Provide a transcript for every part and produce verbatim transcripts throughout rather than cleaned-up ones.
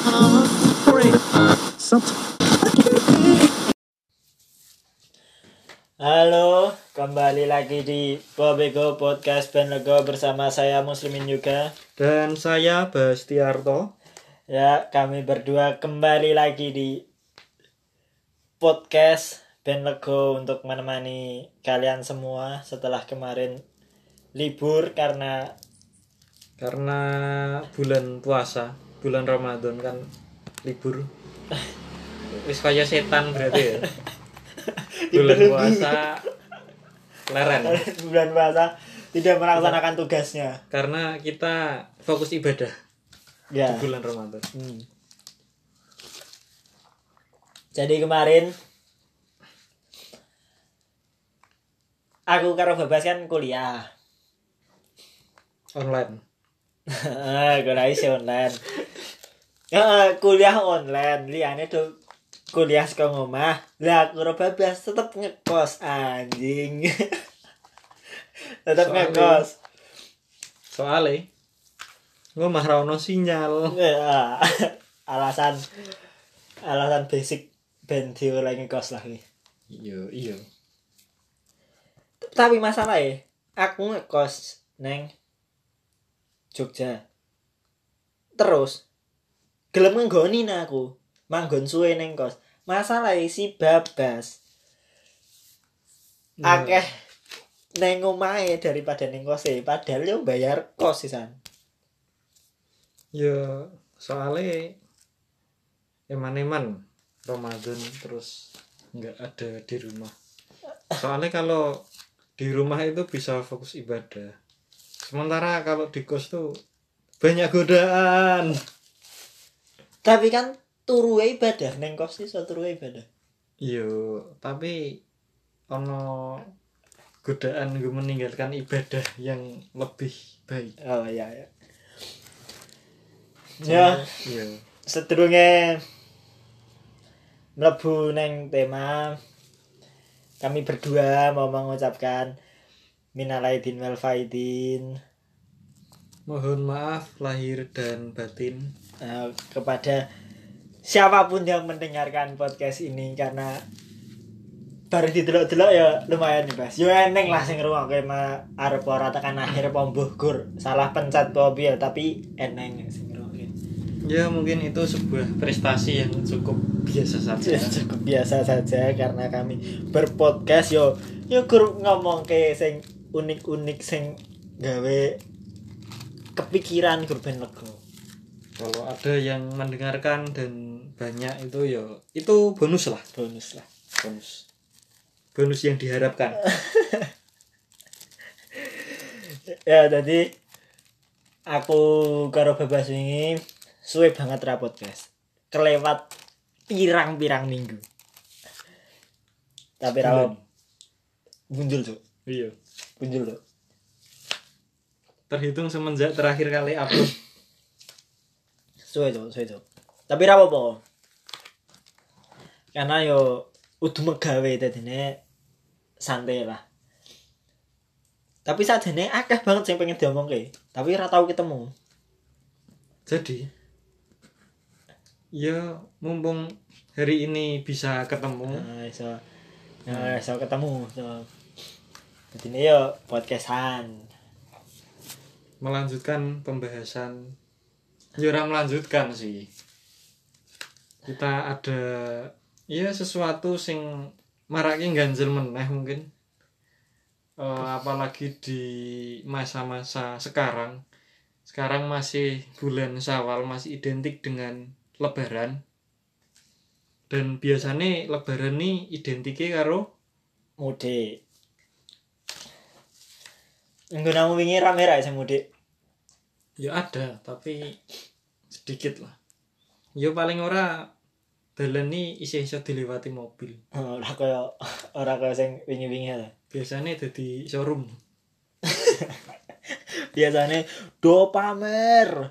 Halo, kembali lagi di Bobego Podcast Ben Lego bersama saya Muslimin juga dan saya Bastiarto. Ya, kami berdua kembali lagi di podcast Ben Lego untuk menemani kalian semua setelah kemarin libur karena karena bulan puasa, bulan Ramadan kan libur. Wis kaya setan berarti ya. Bulan puasa leren. Bulan puasa tidak melaksanakan tugasnya karena kita fokus ibadah ya. Di bulan Ramadan. Hmm. Jadi kemarin aku karo Babas kan kuliah online. kuliah isi online. Ya, kuliah online, liane tuh kuliah saka ngomah. Lah aku karo Babas tetep ngekos anjing. tetep Soale- ngekos. Soale ngomah ra ono sinyal. Ya, alasan alasan basic ben dioleh ngekos lah iki. Iya, iya. Tapi masalahnya aku ngekos neng Jogja. Terus gelem nggoni aku manggon suwe neng kos. Masalahnya si Babas Nah. akeh neng omahe daripada neng kose, padahal yo bayar kos sisan. Ya soale eman-eman Ramadan terus nggak ada di rumah. Soalnya kalau di rumah itu bisa fokus ibadah. Sementara kalau di kos tuh banyak godaan. Tapi kan turu ibadah neng kos iso turu ibadah. Iya, tapi ono godaan gue meninggalkan ibadah yang lebih baik. Oh iya ya. Ya, Iya. sedurunge mlebu neng tema, kami berdua mau mengucapkan minal aidin wal faidin Mohon maaf lahir dan batin uh, kepada siapapun yang mendengarkan podcast ini, karena baru didelok-delok ya lumayan nih Bas. Yo eneng lah sing ngrungokke mah arep ora tekan akhir apa mbuh gur salah pencet apa piye, tapi eneng sing ngrungokke. Ya mungkin itu sebuah prestasi yang cukup biasa saja. Ya, cukup biasa saja karena kami berpodcast yo yo gur ngomongke sing unik-unik sing gawe kepikiran gur ben lega. Kalau ada yang mendengarkan dan banyak itu ya itu bonus lah, Bonus lah. bonus. Bonus yang diharapkan. Ya tadi aku karo Babas wingi suwe banget ra podcast. Kelewat pirang-pirang minggu. Tapi ra bunjul, Cuk. Iya. Bunjul, Cuk. Terhitung semenjak terakhir kali upload. Suwe, Cuk, suwe, Cuk. Tapi ra apa-apa. Karena yo udah megawe dadine santai lah. Tapi sajane akeh banget sing pengen diomongke, tapi ora tau ketemu. Jadi ya mumpung hari ini bisa ketemu. Nah, iso. Nah, iso ketemu. So. Dadine yo podcastan. Melanjutkan pembahasan. Ya ora melanjutkan sih. Kita ada ya sesuatu sing marake ganjel meneh mungkin. Uh, apalagi di masa-masa sekarang. Sekarang masih bulan Syawal, masih identik dengan Lebaran. Dan biasanya Lebaran ini identiknya karo Mudik. Nggunamu wingi rame ra sing mudik? ya ada, tapi sedikit lah. Ya paling ora dalan ni isih-isih dilewati mobil. Ora kaya ora kaya sing wingi-wingi ta. Biasanya dadi showroom. Biasane do pamer.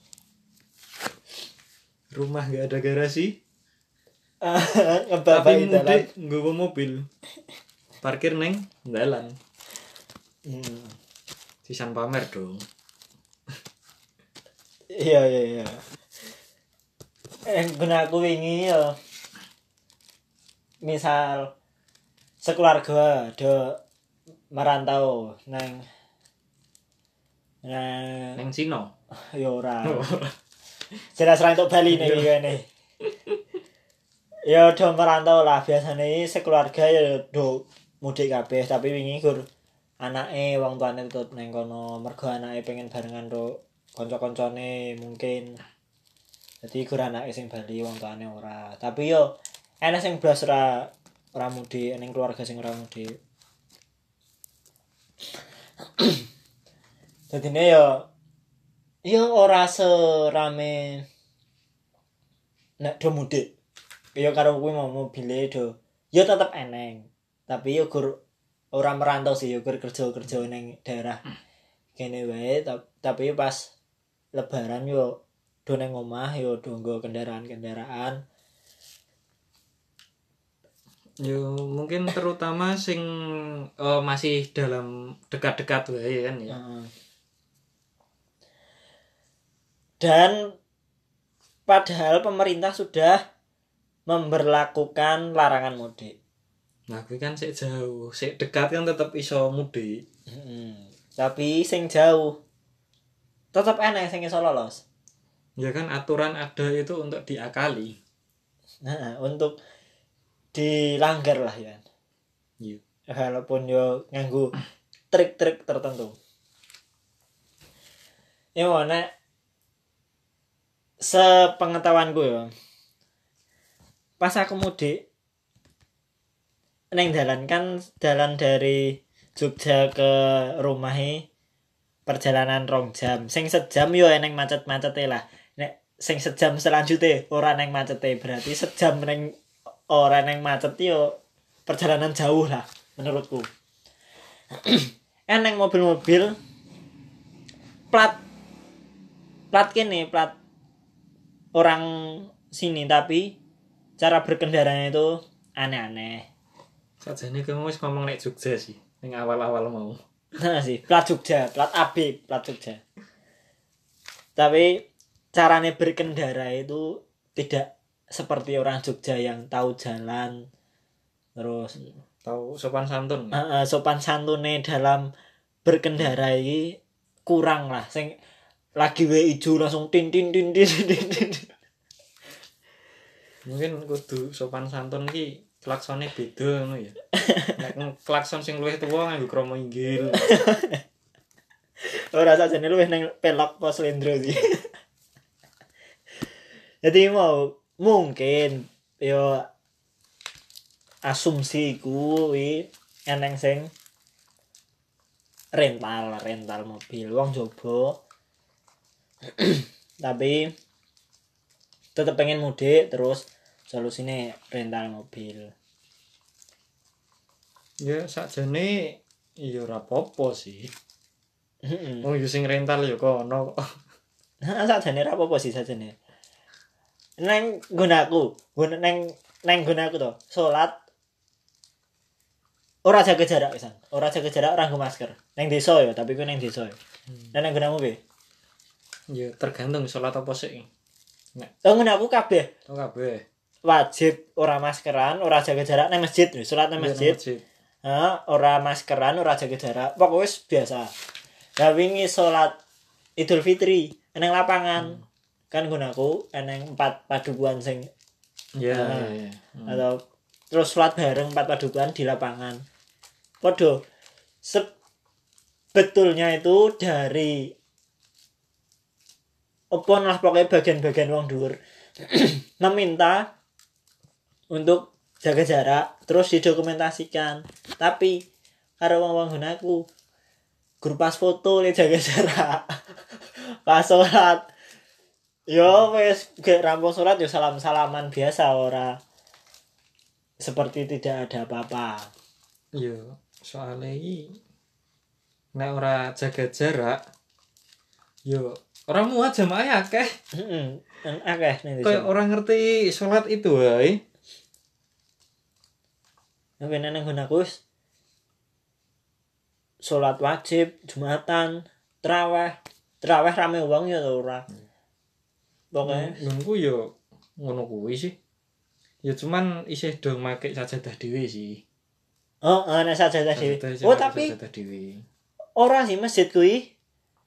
Rumah gak ada garasi. Ngebabak Tapi dalan. mudik nggawa mobil. Parkir neng dalan. Hmm. Sisan pamer dong. Iya iya iya. eh guna aku wingi yo misal sekeluarga do merantau nang nang Neng Cina. yo ora jelas ra entuk Bali nih kene ya do merantau lah biasane sekeluarga ya do mudik kabeh tapi wingi gur anake wong tuane tetep nang kono mergo anake pengen barengan ro kanca-kancane mungkin jadi gur anake sing Bali wong tuane ora tapi yo enek sing blas ora ora mudik ning keluarga sing ora mudik dadine yo yo ora serame nek do mudik yo karo kuwi mau mobile do yo tetep eneng tapi yo gur ora merantau sih yo gur kerja-kerja ning daerah kene wae tapi pas lebaran yo do ning omah yo do nggo kendaraan-kendaraan. Yo mungkin terutama sing oh, masih dalam dekat-dekat wae kan ya. Uh. Dan padahal pemerintah sudah memberlakukan larangan mudik. Nah, kuwi kan sik jauh, sik dekat kan tetep iso mudik. Heeh. Tapi sing jauh tetep enak sing iso lolos. Ya kan aturan ada itu untuk diakali. Nah, untuk dilanggar lah ya. Iya. Walaupun yo nganggo trik-trik tertentu. Ya mana sepengetahuanku ya. Pas aku mudik neng dalan kan dalan dari Jogja ke rumahe perjalanan rong jam. Sing sejam yo eneng macet-macete lah. Nek sing sejam selanjutnya ora neng macete berarti sejam neng ora neng macet yo perjalanan jauh lah menurutku. Eneng mobil-mobil plat plat kene plat orang sini tapi cara berkendaranya itu aneh-aneh. Sajane kamu wis ngomong nek Jogja sih, ning awal-awal mau. Nah sih, plat Jogja, plat A B, plat Jogja. Tapi caranya berkendara itu tidak seperti orang Jogja yang tahu jalan terus tahu sopan santun. Uh, uh, sopan santune dalam berkendara ini kurang lah. Sing lagi wae ijo langsung tin tin tin tin tin tin. Mungkin kudu sopan santun ki klaksone beda ngono ya. Nek klakson sing luwih tuwa nganggo kromo inggil. Ora sajane luwih nang pelok pos lendro sih. Jadi mau mungkin yo asumsiku kuwi eneng sing rental rental mobil wong jobo tapi tetep pengen mudik terus solusine rental mobil. Ya sakjane ya ora apa-apa sih. Heeh. Wong yo sing rental yo kono kok. Heeh sakjane ora apa-apa sih sakjane. Neng gunaku, guna neng neng gunaku to. Salat ora jaga jarak pisan. Ora jaga jarak ora nggo masker. Neng desa ya, tapi ku neng desa ya. Hmm. Neng gunamu piye? Ya tergantung salat apa sik. Nek oh gunaku kabeh. Oh kabeh. Wajib ora maskeran, ora jaga jarak nang masjid, salat nang masjid. Heeh, ora maskeran, ora jaga jarak. Pokoke wis biasa. Lah wingi salat Idul Fitri nang lapangan. Hmm. Kan gunaku eneng empat padukuan sing ya yeah, uh, yeah, yeah. Hmm. atau terus sholat bareng empat padukuan di lapangan. Podo sebetulnya itu dari opon lah pokoknya bagian-bagian wong dhuwur meminta untuk jaga jarak terus didokumentasikan. Tapi karo wong-wong gunaku grup pas foto le jaga jarak. Pas sholat yo wes gek rampung salat yo salam-salaman biasa ora seperti tidak ada apa-apa. Yo soalnya iki nek ora jaga jarak yo ora muat jamaah akeh. Heeh, akeh ning kayak orang ngerti salat itu wae. Nek nang gunaku salat wajib Jumatan, traweh, traweh rame wong ya ora. Pokoke nunggu yo ngono kuwi sih. Ya cuman isih do make sajadah dhewe sih. Oh, ana sajadah dhewe. Sajadah isih Oh, make tapi sajadah dhewe. ora sih masjid kuwi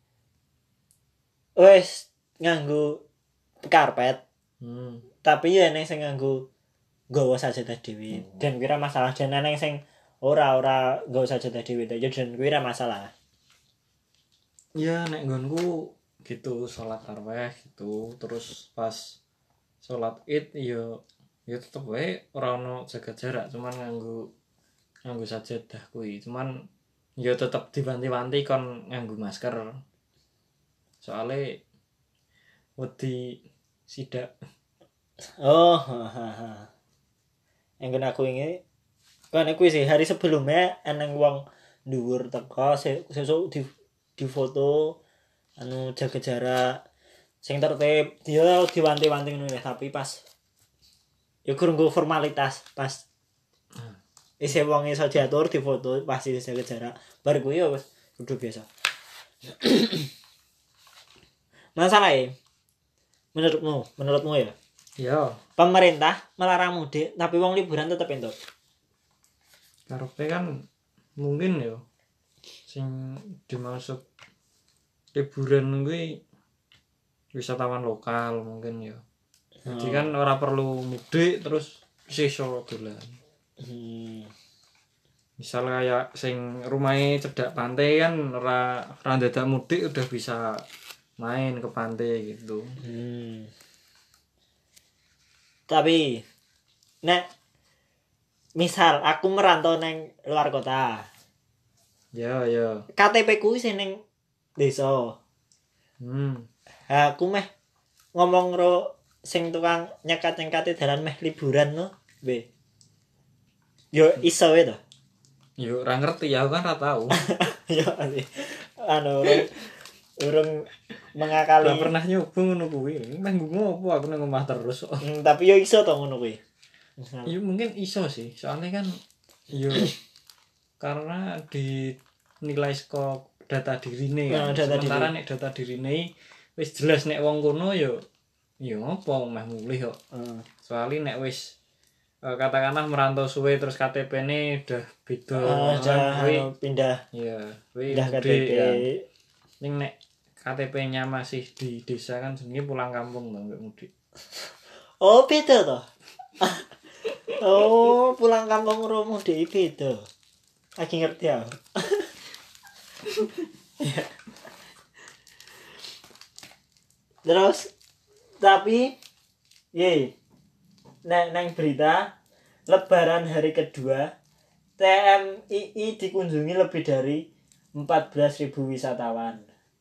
wis nganggo karpet. Hmm. Tapi ya ning sing nganggo nggawa sajadah dhewe. Oh. Dan kira masalah dan ning sing ora ora nggawa sajadah dhewe ya dan kira masalah. Ya nek nggonku gitu salat tarawih gitu terus pas salat Id ya ya tetep wae ora ono jaga jarak cuman nganggo nganggo sajadah kuwi cuman ya tetep diwanti-wanti kon nganggo masker soalnya wedi sidak. Oh, hahaha. Yang kena aku ini kan aku sih hari sebelumnya eneng wong dhuwur teko sesuk di di foto anu jaga jarak sing tertib dia diwanti-wanti ngono ya tapi pas ya kurang formalitas pas isi wong iso diatur di foto pasti jaga jarak bar kuwi ya wis kudu biasa. Masalahnya menurutmu menurutmu ya Ya pemerintah melarang mudik tapi wong liburan tetep entuk. karepe kan mungkin ya sing dimaksud liburan kuwi wisatawan lokal mungkin ya. Jadi kan ora perlu mudik terus iso dolan. Hmm. Misal kayak sing rumahnya cedak pantai kan ora ora dadak mudik udah bisa main ke pantai gitu. Hmm. Tapi nek misal aku merantau neng luar kota. Ya ya. K T P ku sing ning desa. Hmm. Ha aku meh ngomong ro sing tukang nyekat-nyekati dalan meh liburan no. Be. Yo iso wae to. Yo ora ngerti ya, aku kan ora tahu. Yo sih. Anu urung, urung mengakali. Ora pernah nyoba ngono kuwi. Meh ngopo aku nang omah terus. Hmm, tapi yo iso to ngono kuwi. Ya mungkin iso sih. Soalnya kan yo karena dinilai saka data dirine kan. Nah, data Sementara diri. nek data dirine wis jelas nek wong kono yo yo apa meh mulih kok. Heeh. Soalnya nek wis uh, katakanlah merantau suwe terus K T P-ne udah beda Ah, kan kuwi anu, pindah ya kuwi pindah K T P. mudik kan. Ning nek K T P-nya masih di desa kan jenenge pulang kampung to enggak mudik. Oh, beda toh. Oh, pulang kampung ro mudik beda. Lagi ngerti aku. Terus tapi ye nek neng berita lebaran hari kedua T M I I dikunjungi lebih dari empat belas ribu wisatawan.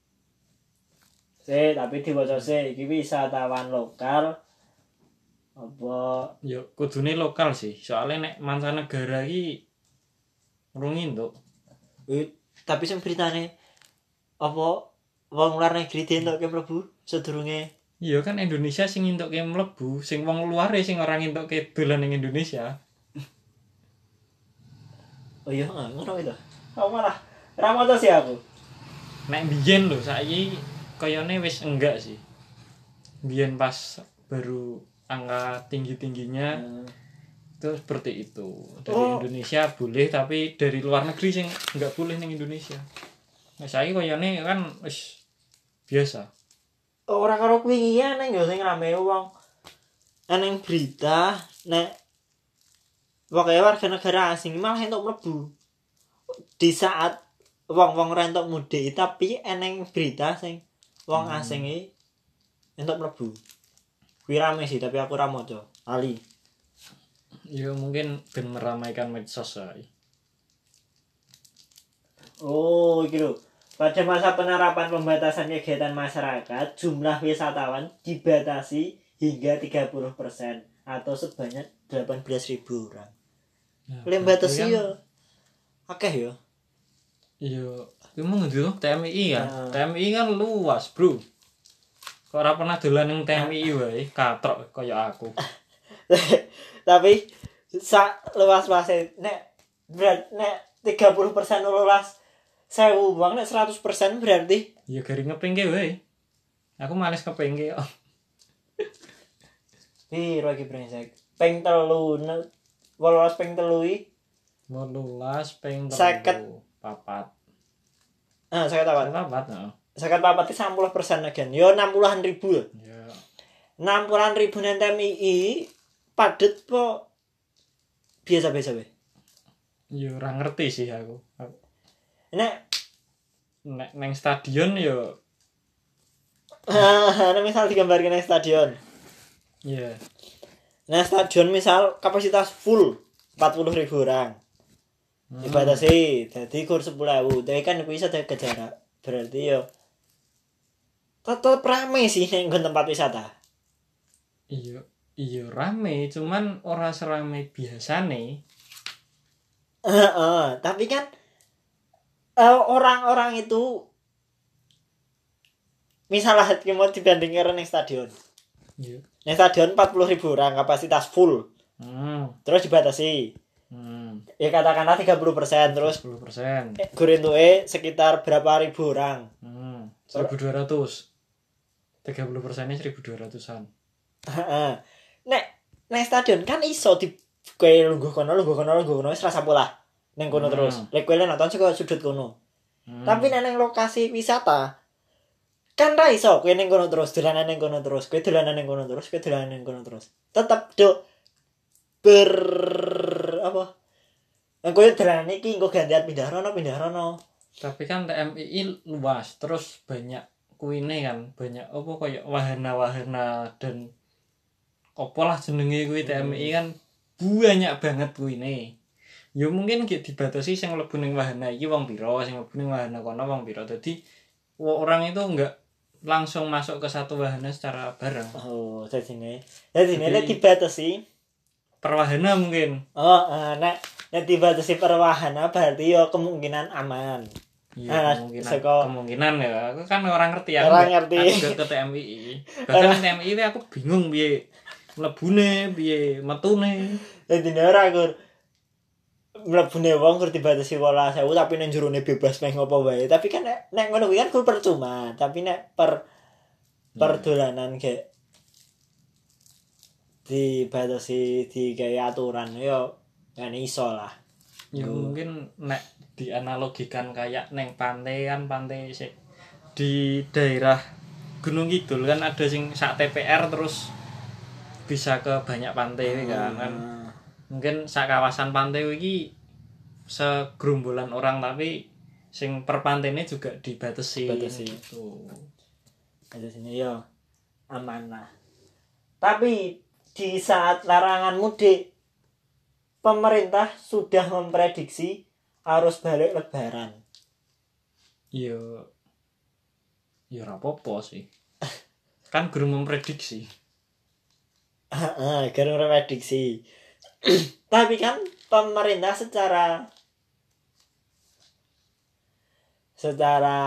Se tapi diwaca se iki wisatawan lokal apa Ya kudune lokal sih. Soalnya nek mancanegara iki urung entuk. eh, tapi sing beritane apa wong luar negeri dientukke mlebu sedurunge. Iya kan Indonesia sing entukke mlebu, sing wong luar sing ora entukke dolan ning Indonesia. Oh iya, ah, ngono itu. Aku malah ra moto sih aku. Nek biyen lho saiki kayane wis enggak sih. Biyen pas baru angka tinggi-tingginya itu seperti itu. Dari Oh. Indonesia boleh tapi dari luar negeri sing enggak boleh ning Indonesia. Nah saiki kayane kan wis biasa. Ora karo kuwi ya neng yo sing rame wong. Eneng berita nek pokoknya warga negara asing malah entuk mlebu. Di saat wong-wong ora entuk mudik tapi eneng berita sing wong Hmm. asing iki entuk mlebu. Kuwi rame sih tapi aku ora maca. Ali. Ya mungkin ben meramaikan medsos ae. Oh, iki lho. Pada masa penerapan pembatasan kegiatan masyarakat, jumlah wisatawan dibatasi hingga tiga puluh persen atau sebanyak delapan belas ribu orang. Nah, Lem batasi kan- yo. Akeh yo. Iya, itu mau ngendi tuh T M I kan? Nah. T M I kan luas, Bro. Kok ora pernah dolan ning T M I wae, katrok kaya aku. Tapi sak luas-luase nek berat nek tiga puluh persen luas sewu uang nek seratus persen berarti Ya gari ngepingke wae. Aku males kepingke kok. Piro iki brengsek? Ping telu, wolulas ping telu iki wolulas ping Seket. telu papat. ah seket papat. Papat, heeh. Seket papat iki enam puluh persen agen. Yo enam puluhan ribu. Ya. enam puluhan ribu nang T M I padet po biasa-biasa wae. Yo ora ngerti sih aku. Aku- Nek Nek neng stadion yo nek misal digambarkan nang stadion. ya Nah, stadion misal kapasitas full empat puluh ribu orang. Hmm. Dibatasi, jadi kur sepuluh ribu. Tapi kan bisa jaga jarak. Berarti yo tetep rame sih ning nggon tempat wisata. iya iya rame, cuman ora serame biasane. Heeh, tapi kan eh, orang-orang itu misalnya mau dibandingkan ning stadion. Iya. Ning stadion empat puluh ribu orang kapasitas full. Hmm. Terus dibatasi. Hmm. Ya katakanlah tiga puluh persen terus sepuluh persen. eh, gurintuke sekitar berapa ribu orang. Hmm. seribu dua ratus. tiga puluh persennya seribu dua ratusan. Heeh. Nek nek stadion kan iso di kowe lungguh kono lungguh kono lungguh kono wis rasa pola. Ning kono Hmm. terus. Lek kowe nonton saka sudut kono. Hmm. Tapi nek ning lokasi wisata kan ra iso kowe ning kono terus, dolanan ning kono terus, kowe dolanan ning kono terus, kowe dolanan ning kono terus. Tetep do ber apa? Nek kowe dolanan iki engko gantian pindah rono pindah rono. Tapi kan T M I luas, terus banyak kuine kan, banyak apa kayak wahana-wahana dan apa lah jenenge kuwi T M I kan banyak banget kuine. Ya mungkin gitu dibatasi sing mlebu ning wahana iki wong pira, sing mlebu ning wahana kono wong pira. Dadi orang itu enggak langsung masuk ke satu wahana secara bareng. Oh, jadine. Jadine Jadi- nek dibatasi. Per wahana mungkin. Oh, eh, nek nek dibatasi per wahana berarti yo kemungkinan aman. Iya, Ah, kemungkinan seko- kemungkinan ya. Aku kan orang ngerti aku. Orang nggak- ngerti. Aku enggak ke T M I. Bahkan T M I aku bingung piye mlebune, piye metune. Jadine ora kur mlebune wong kur dibatasi delapan belas ribu tapi nang jerone bebas meh ngopo wae. Tapi kan nek nek ngono kuwi kan kur percuma, tapi nek per per dolanan kayak dibatasi digawe aturan yo kan iso lah. Ya Hmm. mungkin nek dianalogikan kayak neng pantai kan pantai sik di daerah Gunung Kidul kan ada sing sak T P R terus bisa ke banyak pantai kan. kan. Ah. Mungkin sak kawasan pantai iki segerombolan orang tapi sing per pantainya juga dibatasi. Dibatasi. Gitu. Ada sini yo aman lah. Tapi di saat larangan mudik pemerintah sudah memprediksi arus balik lebaran. Ya ya ora apa-apa sih. Kan guru memprediksi. Heeh, kan memprediksi. Tapi kan pemerintah secara secara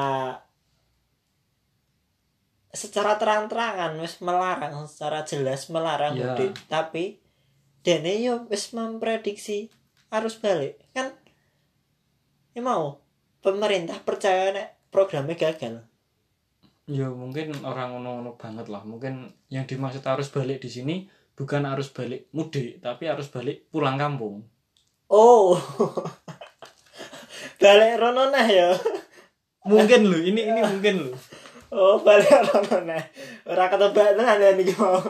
secara terang-terangan wis melarang, secara jelas melarang Ya. mudik, tapi dene yo wis memprediksi arus balik. Kan ya mau pemerintah percaya nek programnya gagal. Ya mungkin orang ngono-ngono banget lah. Mungkin yang dimaksud arus balik di sini bukan arus balik mudik, tapi arus balik pulang kampung. Oh. Balik rono nah ya. Mungkin lho, ini ini mungkin lho. Oh, balik rono nah. Ora ketebak tenan ya niki mau.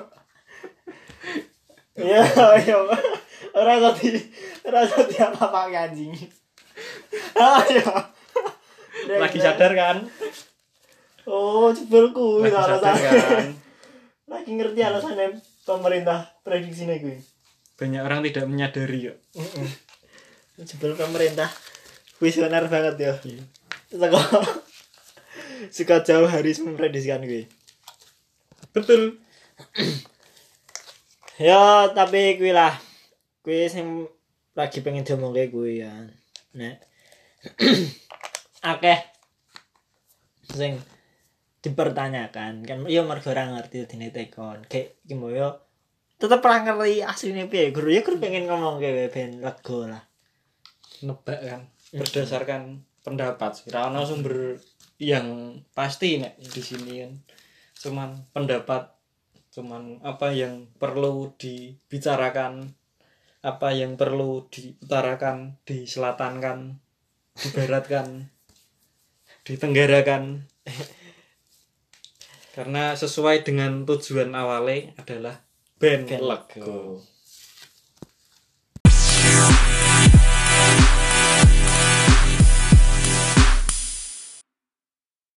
Ya, ya. Ora tadi, ora tadi apa-apa anjing. Ayo. Lagi sadar kan? Oh, jebul kuwi Lagi sadar alasannya. kan? Lagi ngerti alasannya pemerintah prediksinya kuwi. Banyak orang tidak menyadari ya. Heeh. Jebul pemerintah visioner banget ya. Iya. Saka Saka jauh hari memprediksikan kuwi. Betul. Ya, tapi kuwi lah. Kuwi sing lagi pengen diomongke kuwi ya. Nek akeh sing dipertanyakan kan ya mergo ora ngerti dene tekon. Kayak iki mbok yo tetep ora ngerti asline piye. Guru ya guru pengen ngomongke wae ben lega lah. Nebak kan berdasarkan pendapat sih. Ora ono sumber yang pasti nek di sini kan. Cuman pendapat cuman apa yang perlu dibicarakan, apa yang perlu diutarakan, diselatankan, dibaratkan, ditenggarakan. Karena sesuai dengan tujuan awalnya adalah band Band Lego. Lego.